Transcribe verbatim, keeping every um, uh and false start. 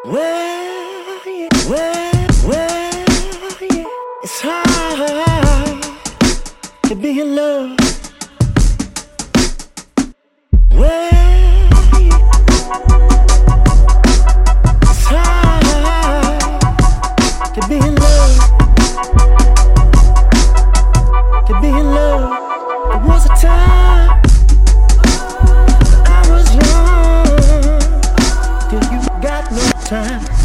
Well, yeah, well, well, yeah. It's hard to be in love. Well, yeah. It's hard to be in love. To be in love. There was a time I was young till you got no time.